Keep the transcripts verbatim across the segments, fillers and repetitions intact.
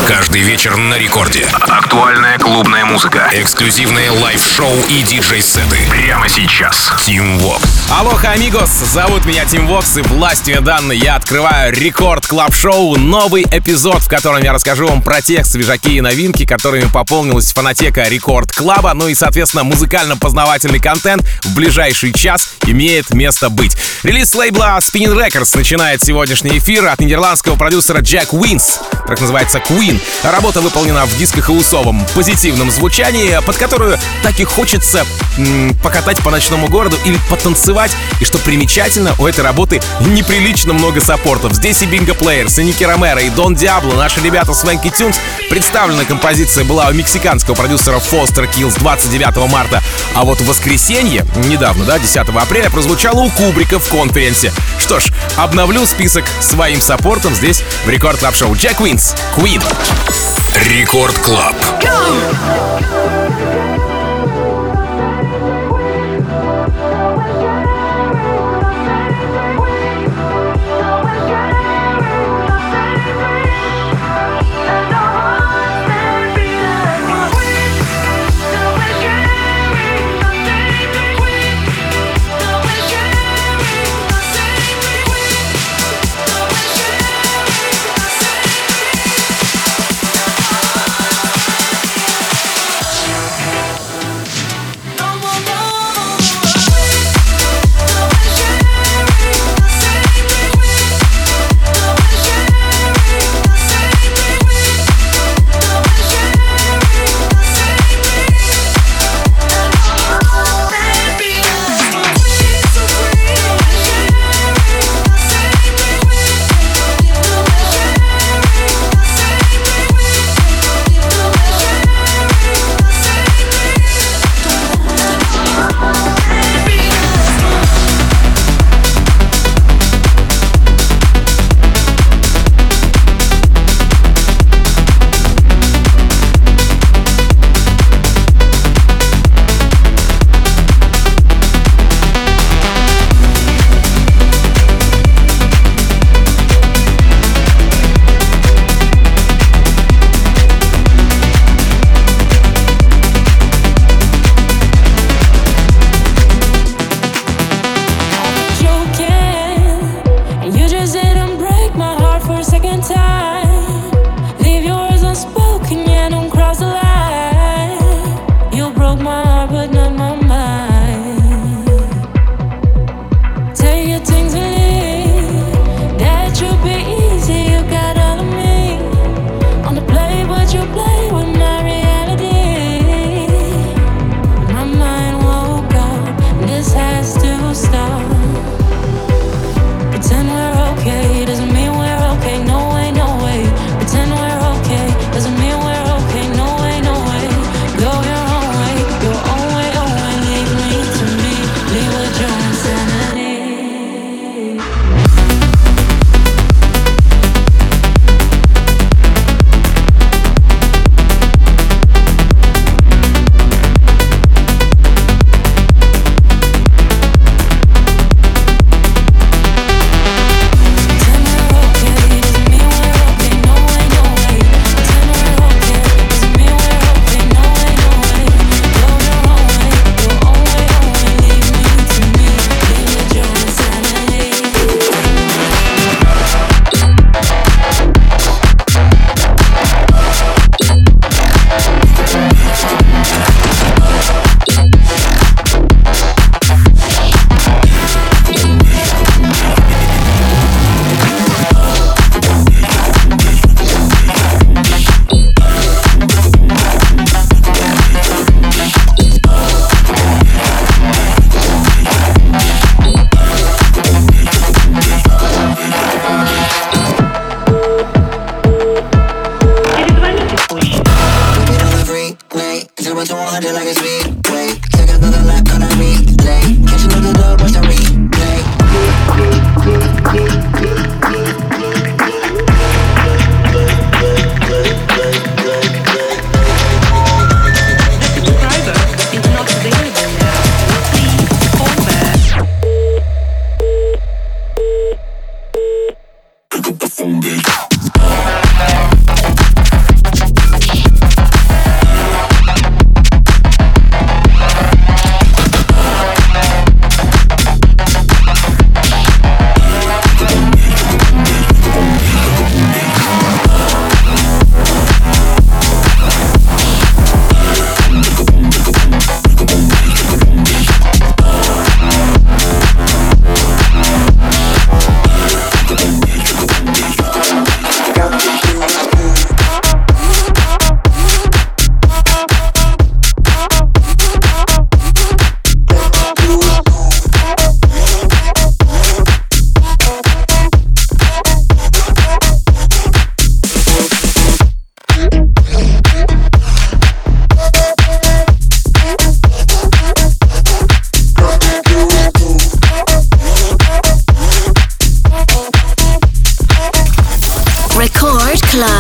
Каждый вечер на рекорде. Актуальная клубная музыка, эксклюзивные лайв-шоу и диджей-сеты. Прямо сейчас. Team Vox. Алоха, амигос! Зовут меня Team Vox, и властью данной я открываю Рекорд Клаб Шоу, новый эпизод, в котором я расскажу вам про тех свежаки и новинки, которыми пополнилась фонотека Рекорд Клаба, ну и, соответственно, музыкально-познавательный контент в ближайший час имеет место быть. Релиз лейбла Spinnin' Records начинает сегодняшний эфир от нидерландского продюсера Jack Wins. Трек называется Queen. Работа выполнена в диско-хаусовом позитивном звучании, под которую так и хочется м- покатать по ночному городу или потанцевать. И что примечательно, у этой работы неприлично много саппортов. Здесь и Bingo Players, и Ники Ромеро, и Дон Диабло, наши ребята Swanky Tunes. Представлена композиция была у мексиканского продюсера Foster Kills двадцать девятого марта. А вот в воскресенье, недавно, да, десятого апреля, прозвучала у Кубрика в конференсе. Что ж, обновлю список своим саппортом здесь в Рекорд Клаб Шоу. Jack Wins, Queen. Рекорд Клаб.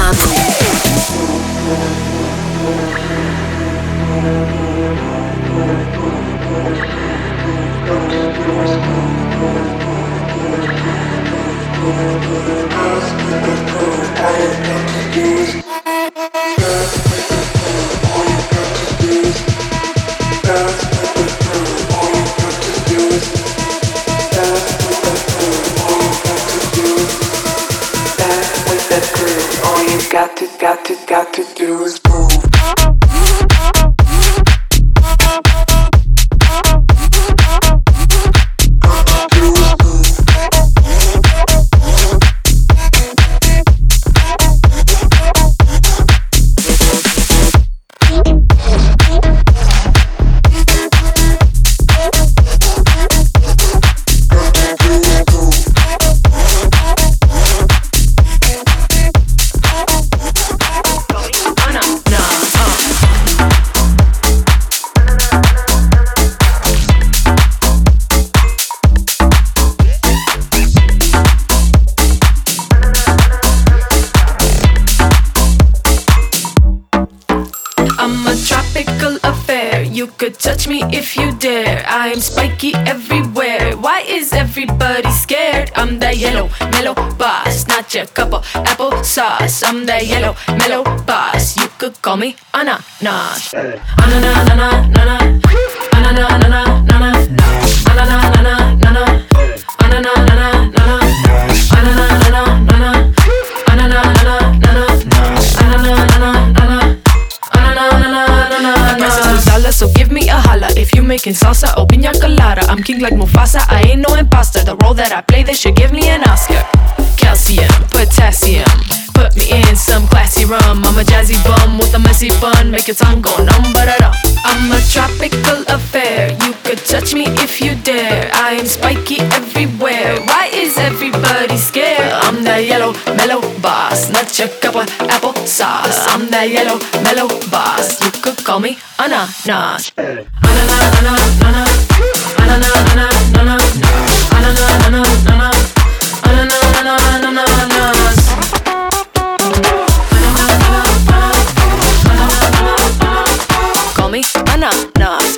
Got to, got to, got to do is move. Touch me if you dare. I am spiky everywhere. Why is everybody scared? I'm that yellow, mellow boss, not your cup of apple sauce. I'm that yellow, mellow boss. You could call me ananas. Ananas, ananas, ananas, ananas, ananas, ananas, ananas, ananas, ananas, ananas, ananas, so give me a holla if you making salsa or piña colada. I'm king like Mufasa, I ain't no imposter. The role that I play, they should give me an Oscar. Calcium, potassium, put me in some classy rum. I'm a jazzy bum with a messy bun, make your tongue go numb, but I don't. I'm a tropical affair, you could touch me if you dare. I am spiky everywhere, why is everybody scared? I'm that yellow, mellow boss, not your cup of apple sauce. I'm that yellow, mellow boss, you could call me ananas. Ananas, ananas, ananas, ananas, ananas, ananas, ananas, ananas, ananas, ananas, ananas. Call me ananas.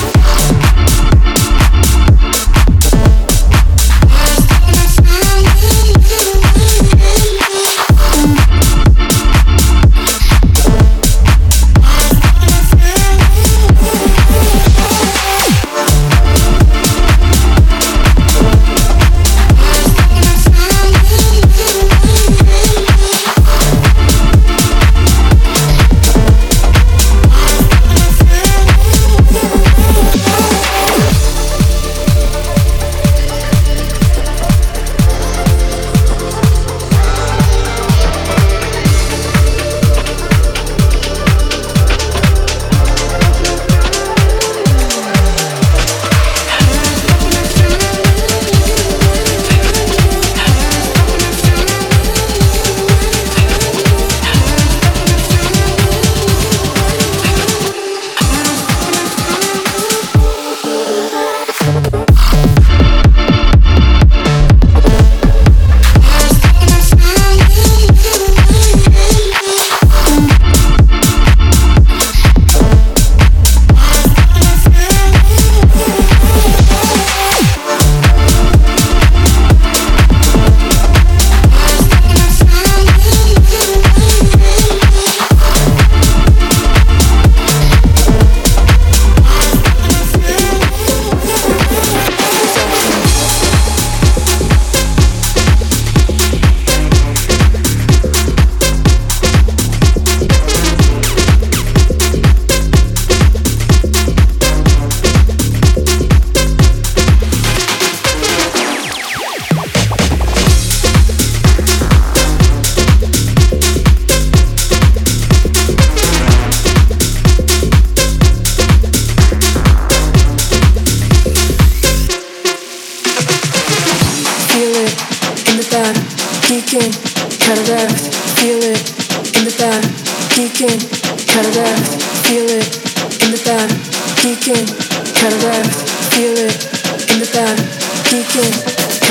geeking, cataracts, feel it in the back, geeking, cataracts, feel it in the back, geeking, cataracts, feel it in the back, geeking,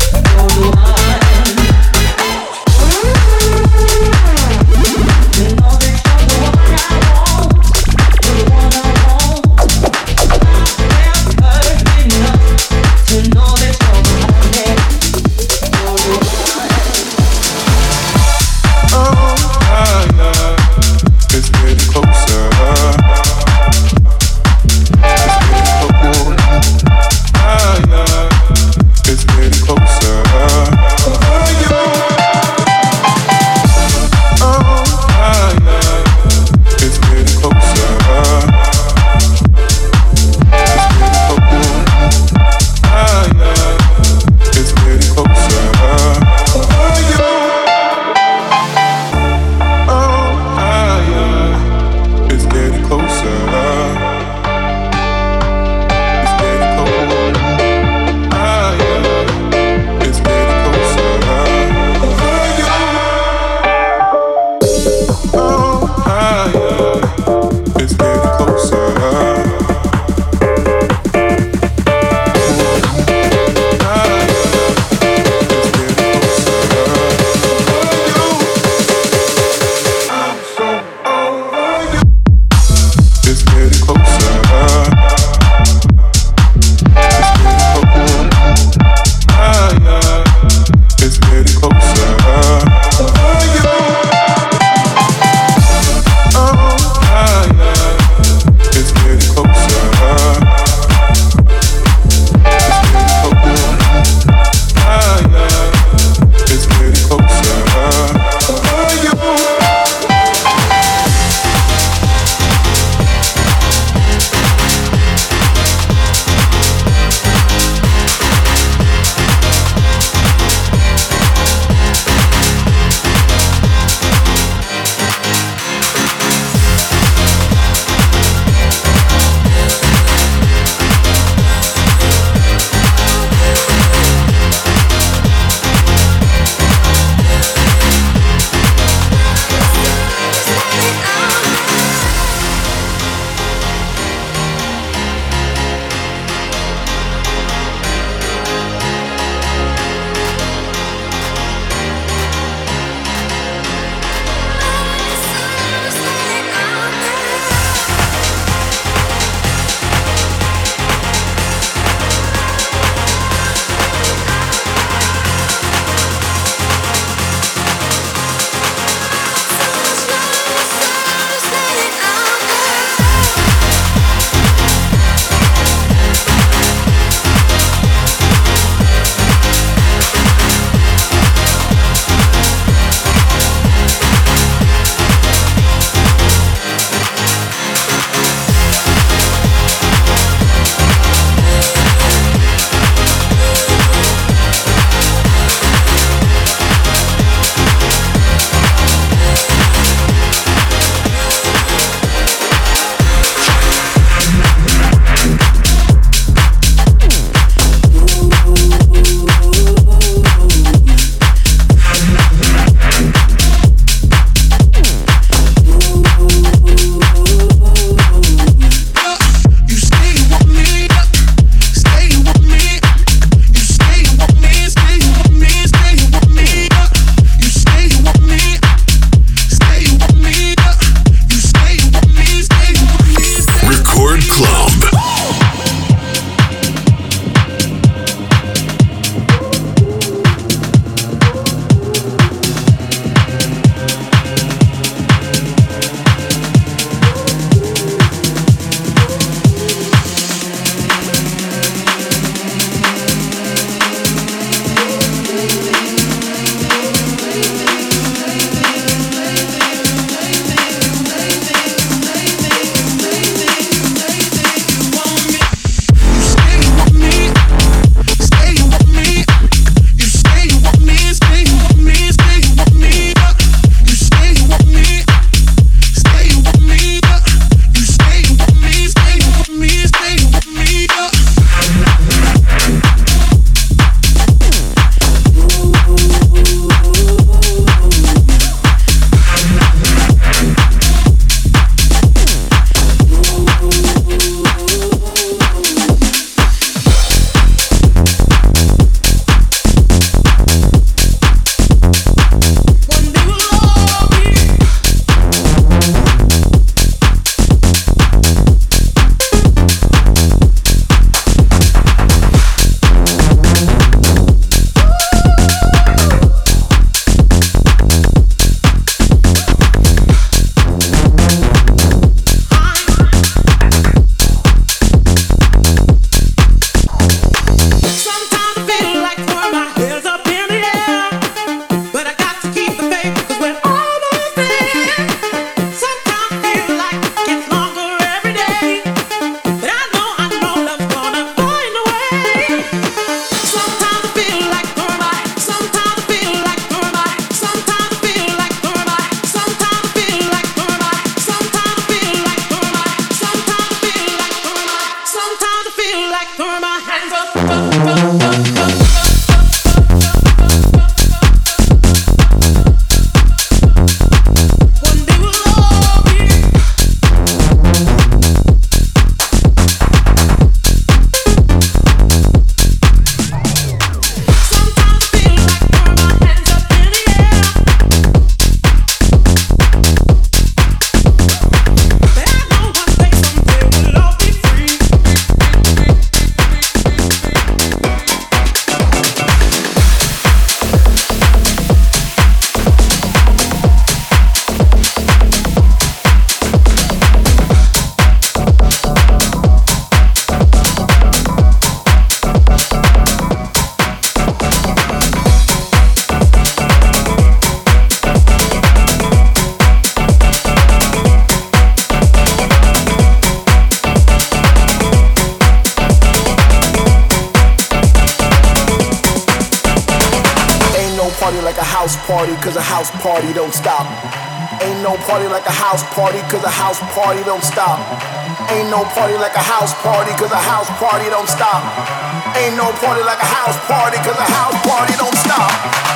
party, cause a house party don't stop. Ain't no party like a house party, cause a house party don't stop. Ain't no party like a house party, cause a house party don't stop. Ain't no party like a house party, cause a house party don't stop.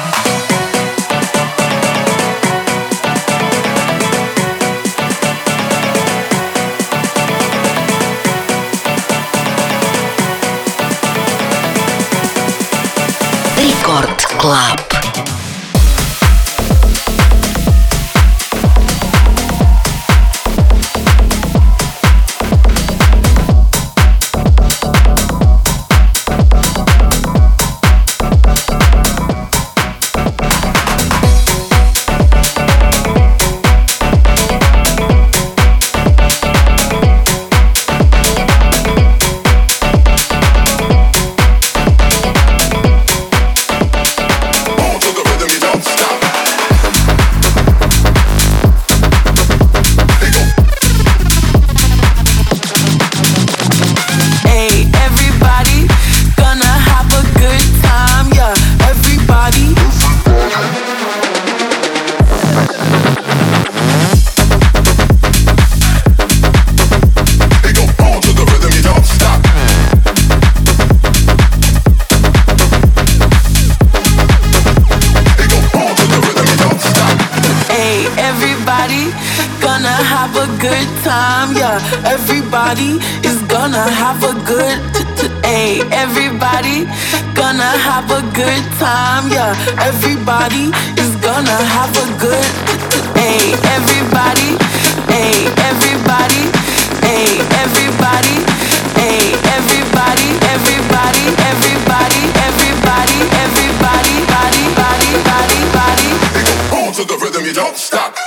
Рекорд Клаб. Everybody is gonna have a good Hey, everybody gonna have a good time, yeah. Everybody is gonna have a good Hey, everybody, hey, everybody, hey, everybody, hey, everybody, everybody, everybody, everybody, everybody, body, body, body, body. On to the rhythm, you don't stop.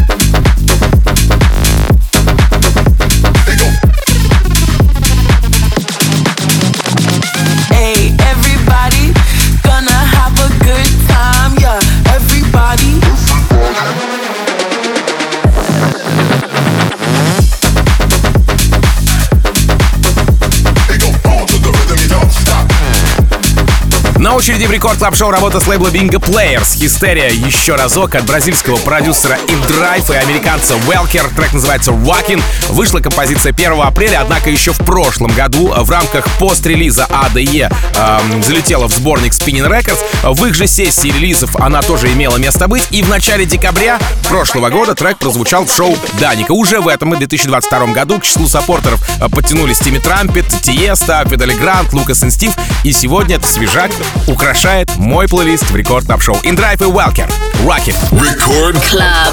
На очереди в Рекорд Клаб Шоу работа с лейбла Bingo Players. Hysteria еще разок от бразильского продюсера InDrive и американца Welker. Трек называется Rockin'. Вышла композиция первого апреля, однако еще в прошлом году в рамках пост-релиза эй ди и э, залетела в сборник Spinning Records. В их же сессии релизов она тоже имела место быть. И в начале декабря прошлого года трек прозвучал в шоу Даника. Уже в этом и две тысячи двадцать втором году к числу саппортеров подтянулись Тимми Трампет, Тиеста, Педали Грант, Лукас и Стив. И сегодня это свежак украшает мой плейлист в Рекорд Клаб Шоу. InDrive и Welker. Rock it. Record Club.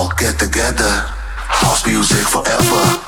all get together. House music forever.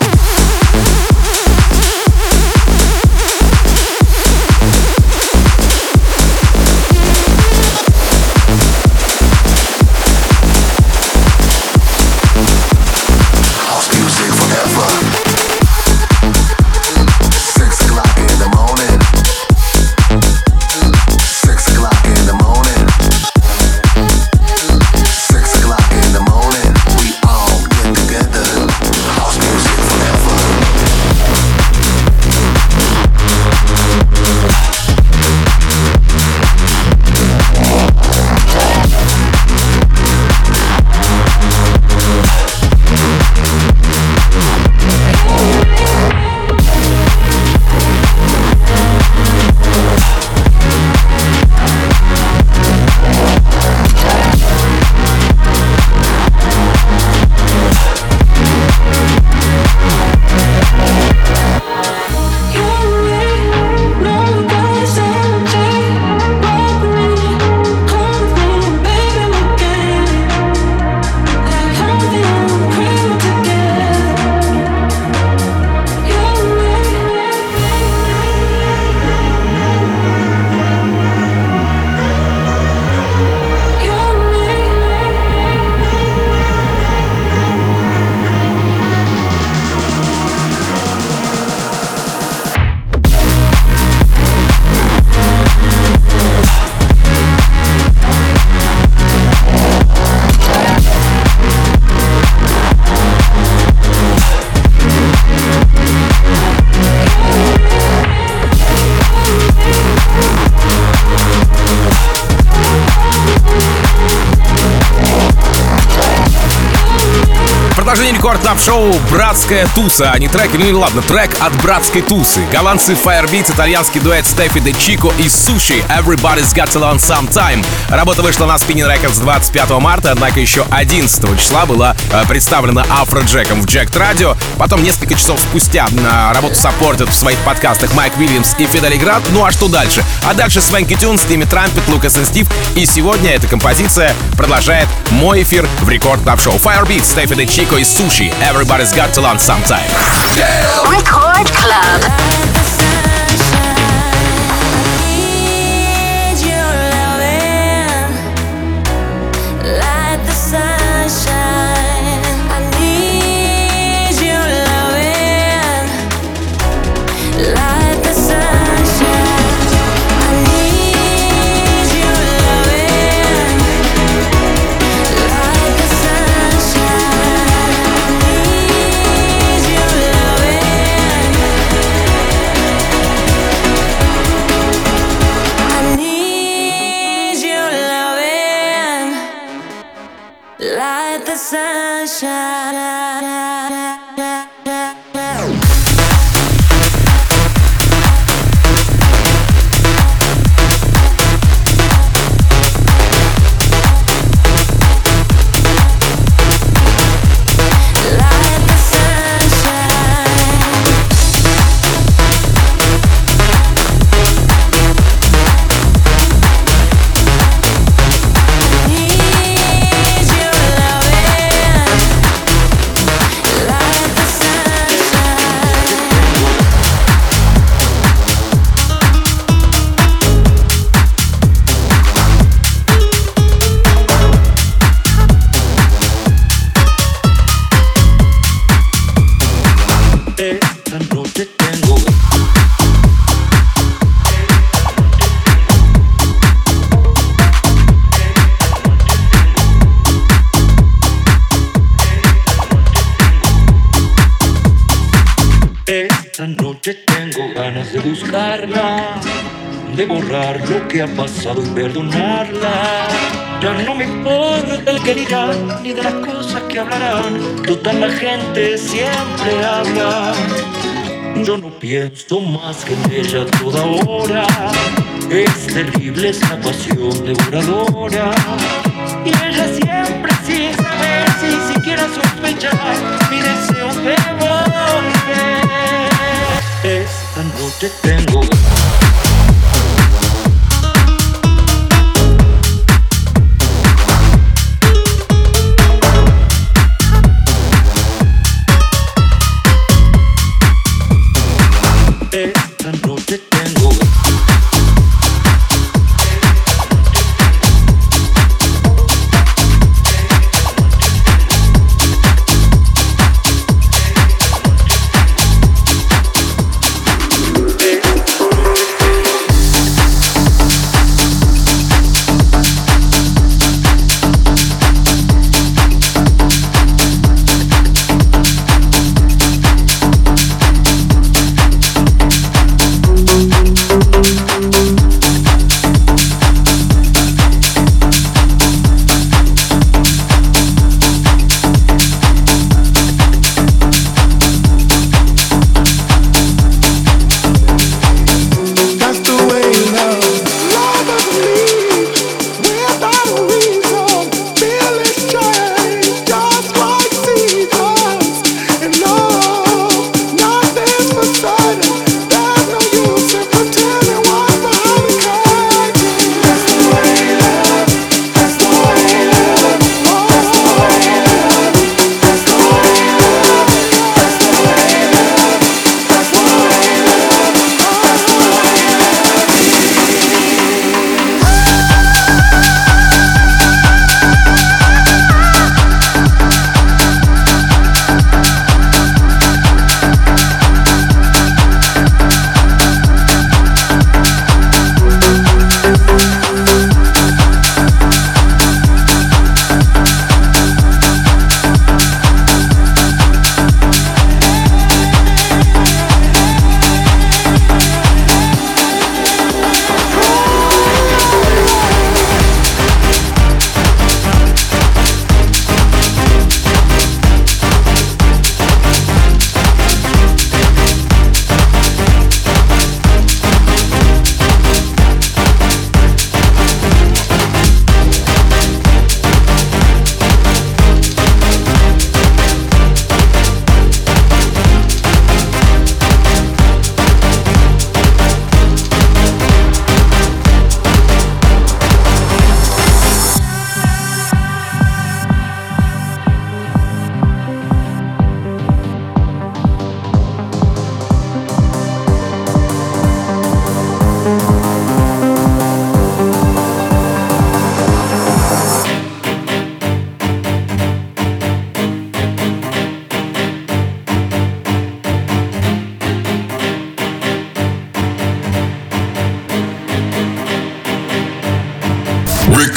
Рекорд Клаб Шоу «Братская туса», а не трек, ну и ладно, трек от «Братской тусы». Голландцы Firebeats, итальянский дуэт Стефи де Чико и Суши «Everybody's Got to Learn Sometime». Работа вышла на Spinning Records двадцать пятого марта, однако еще одиннадцатого числа была э, представлена Афроджеком в Jacked Radio. Потом несколько часов спустя на работу саппортят в своих подкастах Майк Уильямс и Фидели Град. Ну а что дальше? А дальше Свенки Тюнс, Тимми Трампет, Лукас и Стив. И сегодня эта композиция продолжает мой эфир в Рекорд Клаб Шоу. Firebeats, Стефи де Чико и Суши «Everybody's Got to Learn Sometime». Record Club. De borrar lo que ha pasado y perdonarla. Ya no me importa el que dirán ni de las cosas que hablarán. Total, la gente siempre habla. Yo no pienso más que en ella toda hora. Es terrible esa pasión devoradora. Y ella siempre sin saber, sin siquiera sospechar, mi deseo de volver. Esta noche tengo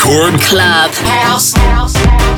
Record Club. House. House.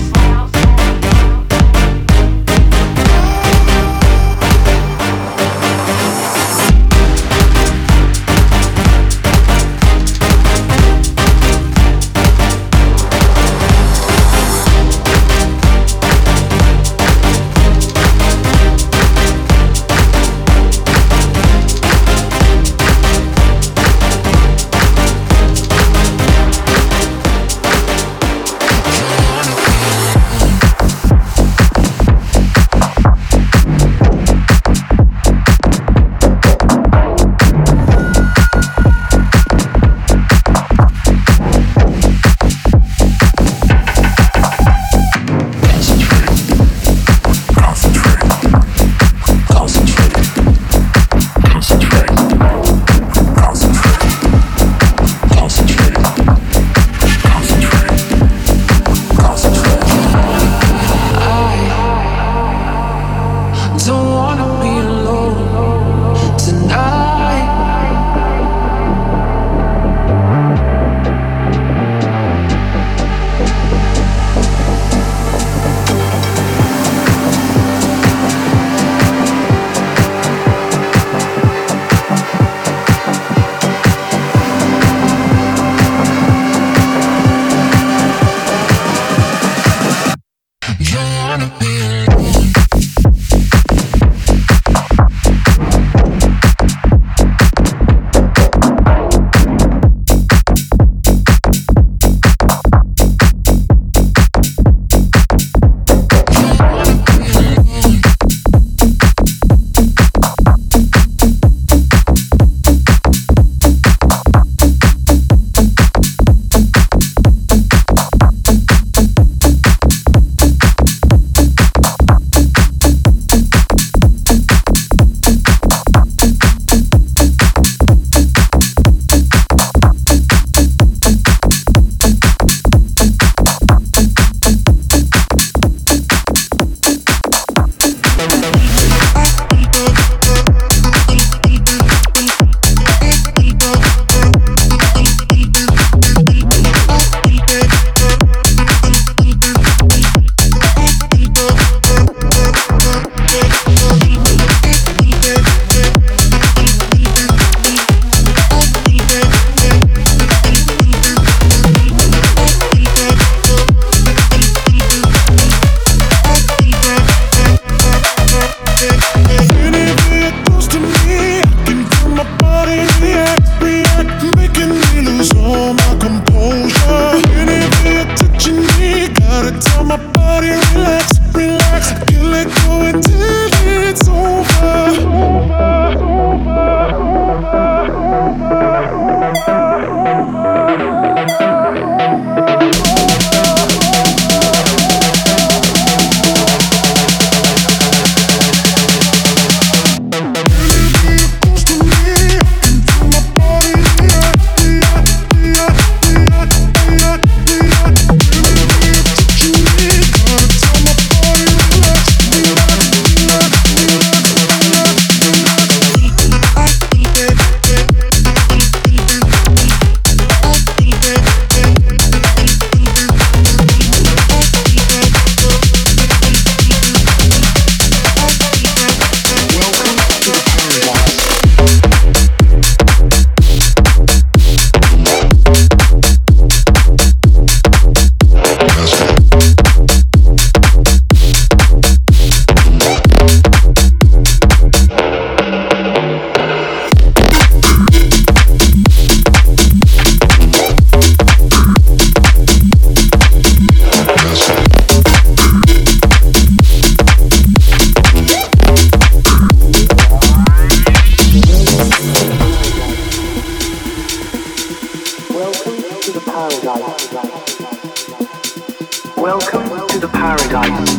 Welcome to the paradise.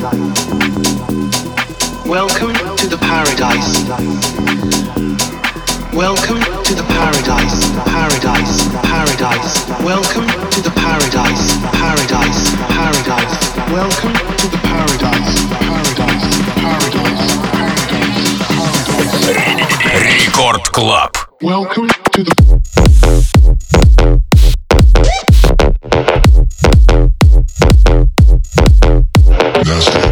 Welcome to the paradise. Welcome to the paradise. Paradise. Paradise. Welcome to the paradise. Paradise. Paradise. Welcome to the paradise. Paradise. Paradise. Paradise. Рекорд Клаб. Welcome to the dance floor.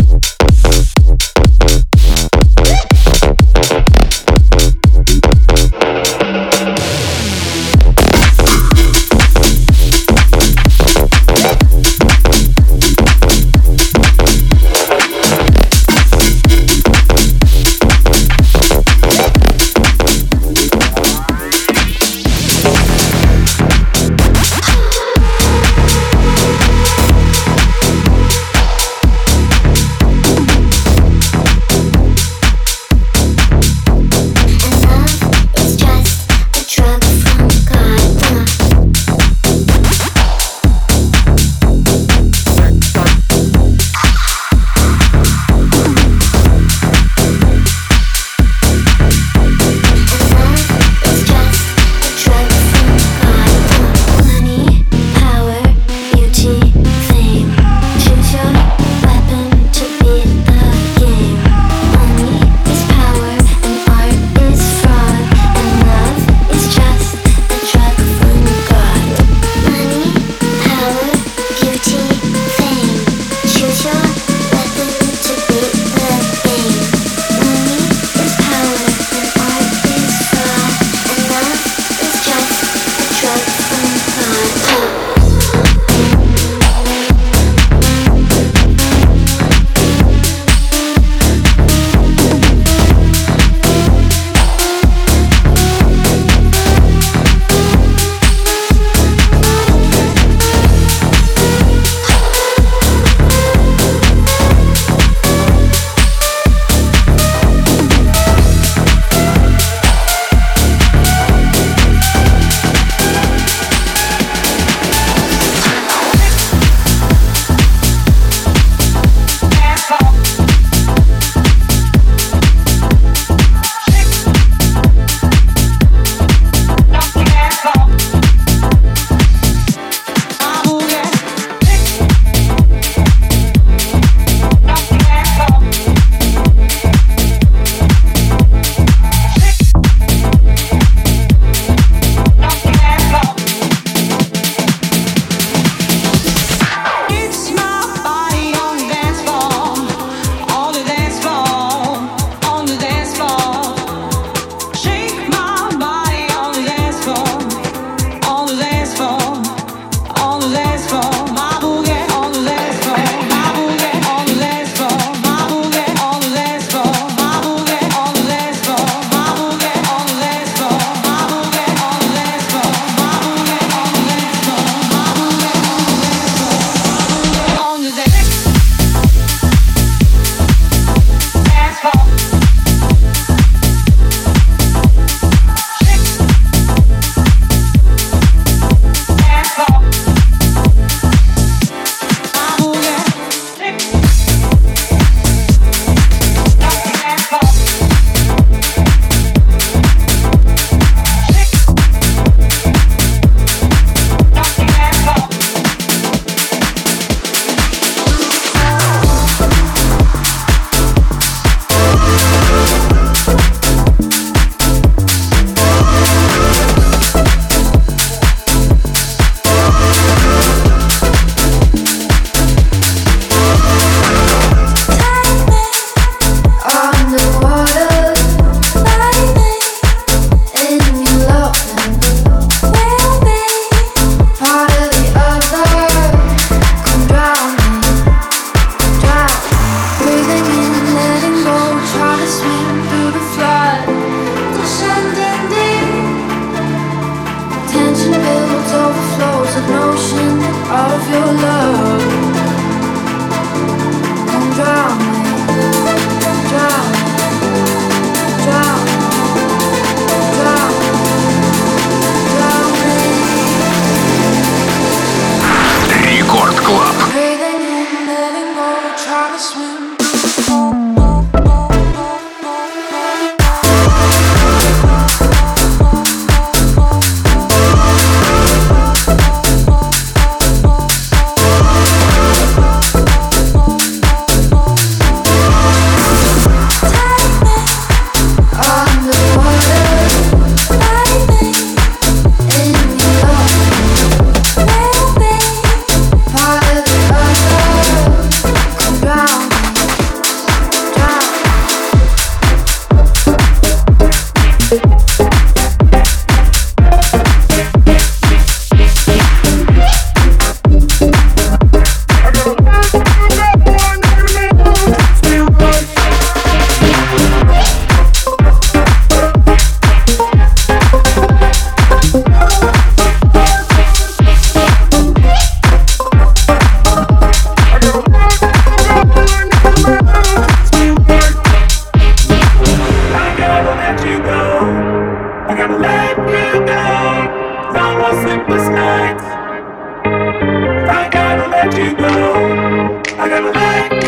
Ground.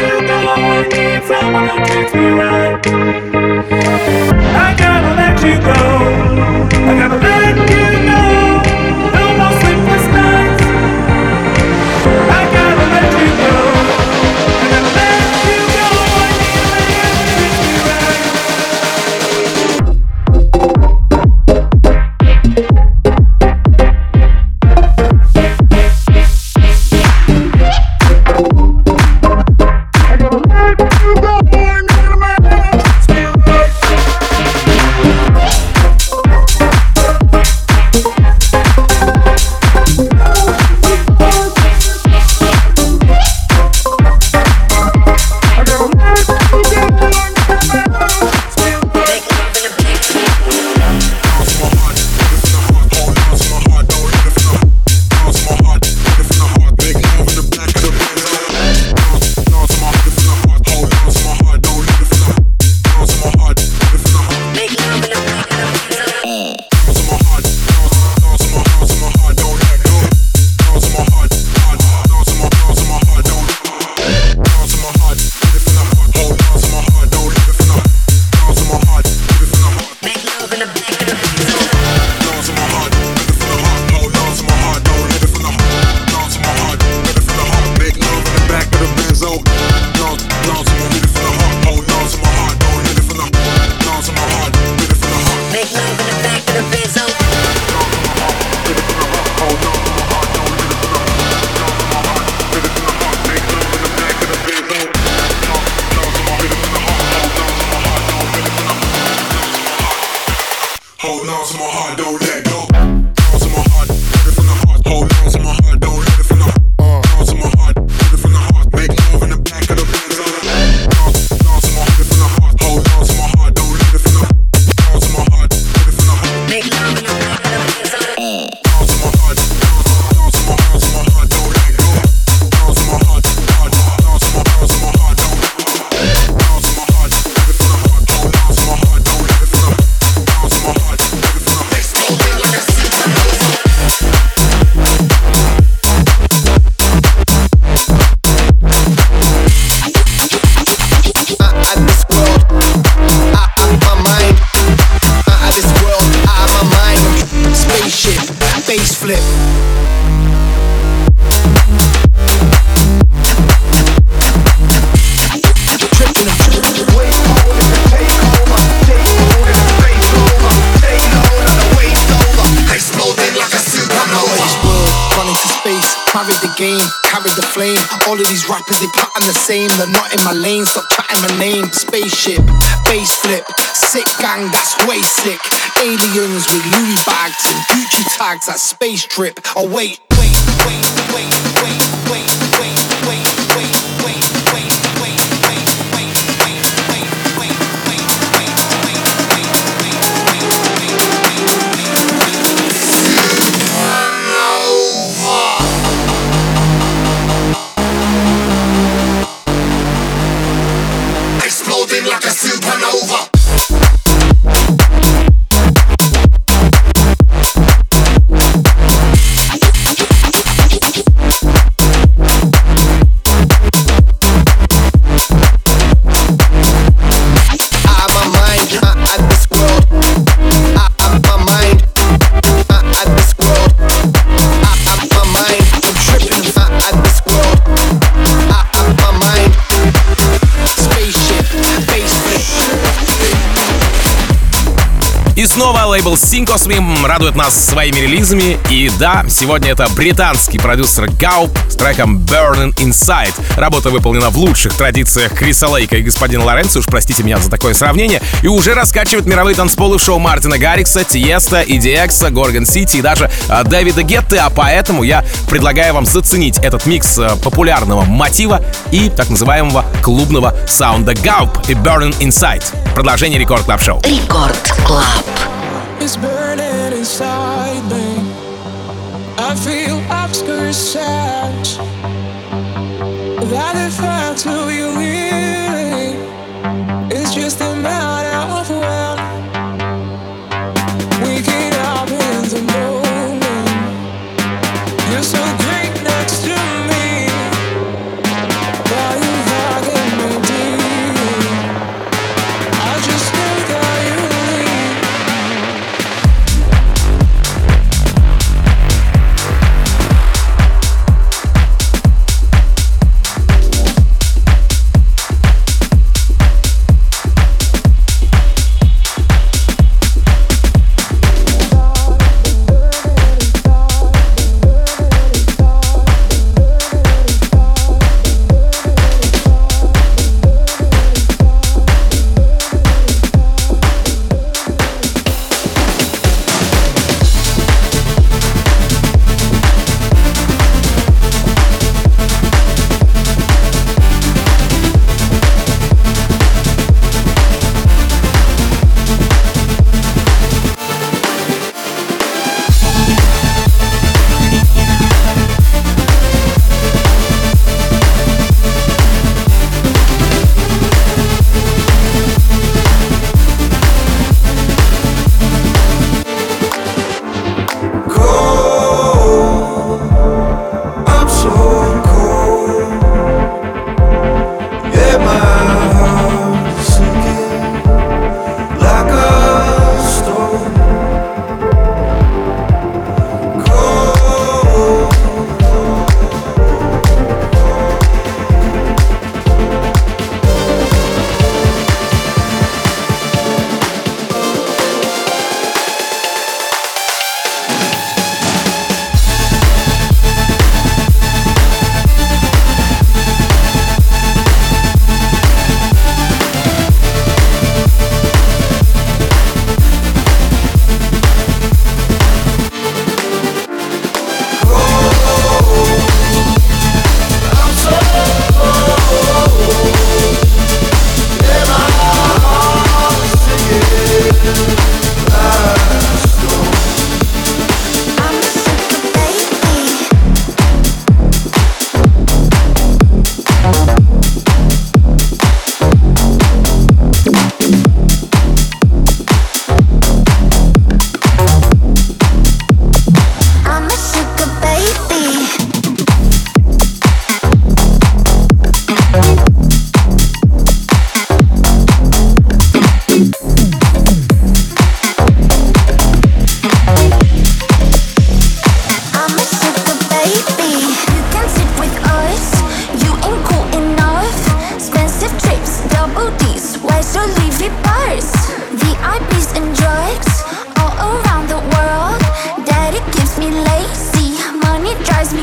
you go. I need someone that treats me right. I gotta let you go. I gotta let you know. No more sleepless nights. I gotta let you go. I gotta let you go. I need a man that treats me right. All of these rappers, they pattern the same. They're not in my lane, stop chatting my name. Spaceship, bass flip, sick gang, that's way sick. Aliens with Louis bags and Gucci tags, that's space trip. Oh wait, wait, wait, wait, wait, wait, wait, wait, wait, wait, wait, wait, wait, wait, wait, wait, wait, wait, exploding like a supernova. И снова лейбл Syncosme радует нас своими релизами. И да, сегодня это британский продюсер Gaup с треком Burning Inside. Работа выполнена в лучших традициях Криса Лейка и господина Лоренцо, уж простите меня за такое сравнение, и уже раскачивает мировые танцполы в шоу Мартина Гаррикса, Тиеста, и ди экс, Горгон Сити и даже а, Дэвида Гетты. А поэтому я предлагаю вам заценить этот микс а, популярного мотива и так называемого клубного саунда Gaup и Burning Inside. Продолжение Рекорд Клаб Шоу. Рекорд Клаб. It's burning inside me. I feel obscure sad. That the fact of you really is just a matter of when. Waking up in the moment. You're so great next to me. But you forget.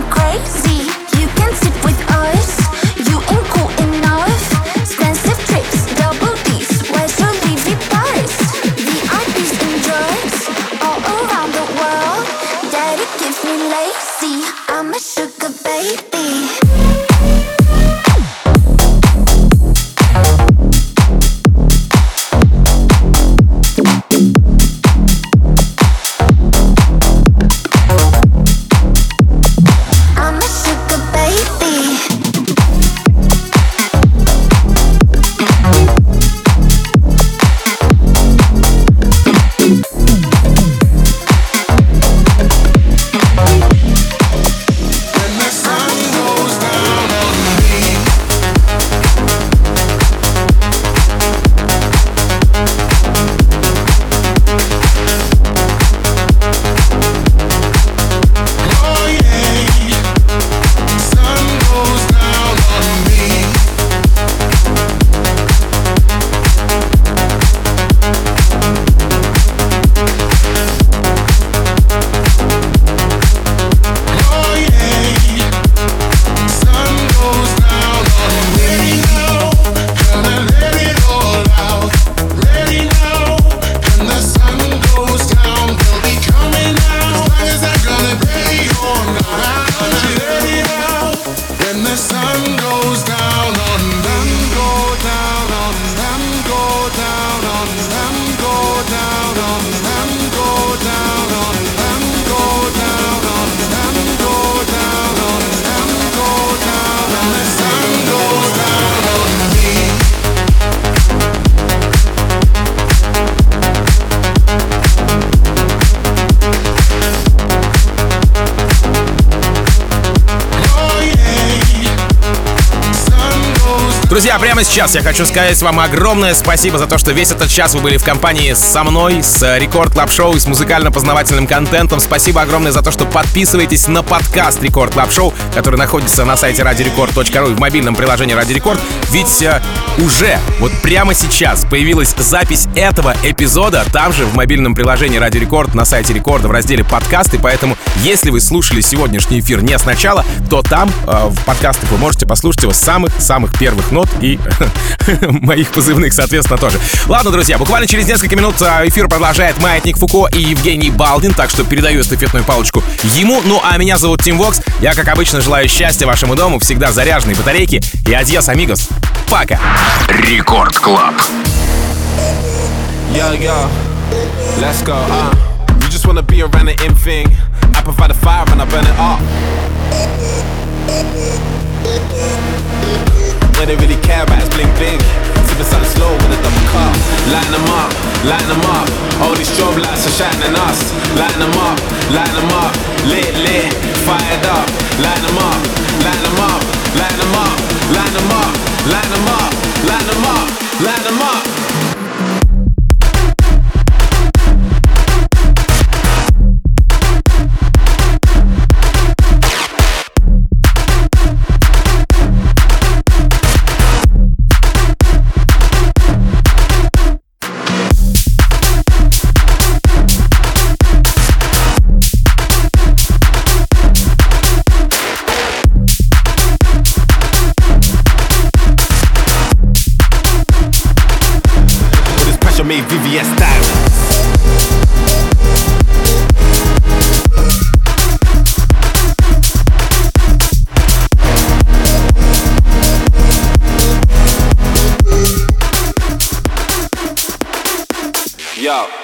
crazy. You can sit with us. You ain't cool enough. Expensive trips, double D's. Where's your Louis purse? V I Ps and drugs all around the world. Daddy gives me lazy. I'm a sugar baby. Друзья, прямо сейчас я хочу сказать вам огромное спасибо за то, что весь этот час вы были в компании со мной, с Рекорд Клаб Шоу и с музыкально-познавательным контентом. Спасибо огромное за то, что подписываетесь на подкаст Рекорд Клаб Шоу, который находится на сайте радио рекорд точка ру и в мобильном приложении Радио Рекорд. Ведь э, уже, вот прямо сейчас появилась запись этого эпизода там же в мобильном приложении Радио Рекорд на сайте Рекорда в разделе подкасты. Поэтому, если вы слушали сегодняшний эфир не сначала, то там э, в подкастах вы можете послушать его с самых-самых первых нот и моих позывных, соответственно, тоже. Ладно, друзья, буквально через несколько минут эфир продолжает Маятник Фуко и Евгений Балдин, так что передаю эстафетную палочку ему. Ну, а меня зовут Тим Вокс. Я, как обычно, желаю счастья вашему дому, всегда заряженной батарейки. И адьос, амигос. Пока. Рекорд Клаб. Yo, yo, let's go, uh You just wanna be around the in thing. I provide the fire and I burn it up. What they really care about is bling bling. Sipping something slow with a double cup. Lighten them up, lighten them up. All these strobe lights are shining us. Lighten them up, lighten them up. Lit, lit, fired up. Lighten them up, lighten them up. Lighten them up, lighten them up. Lighten them up, lighten them up. Lighten them up. Made V V S style. Yo.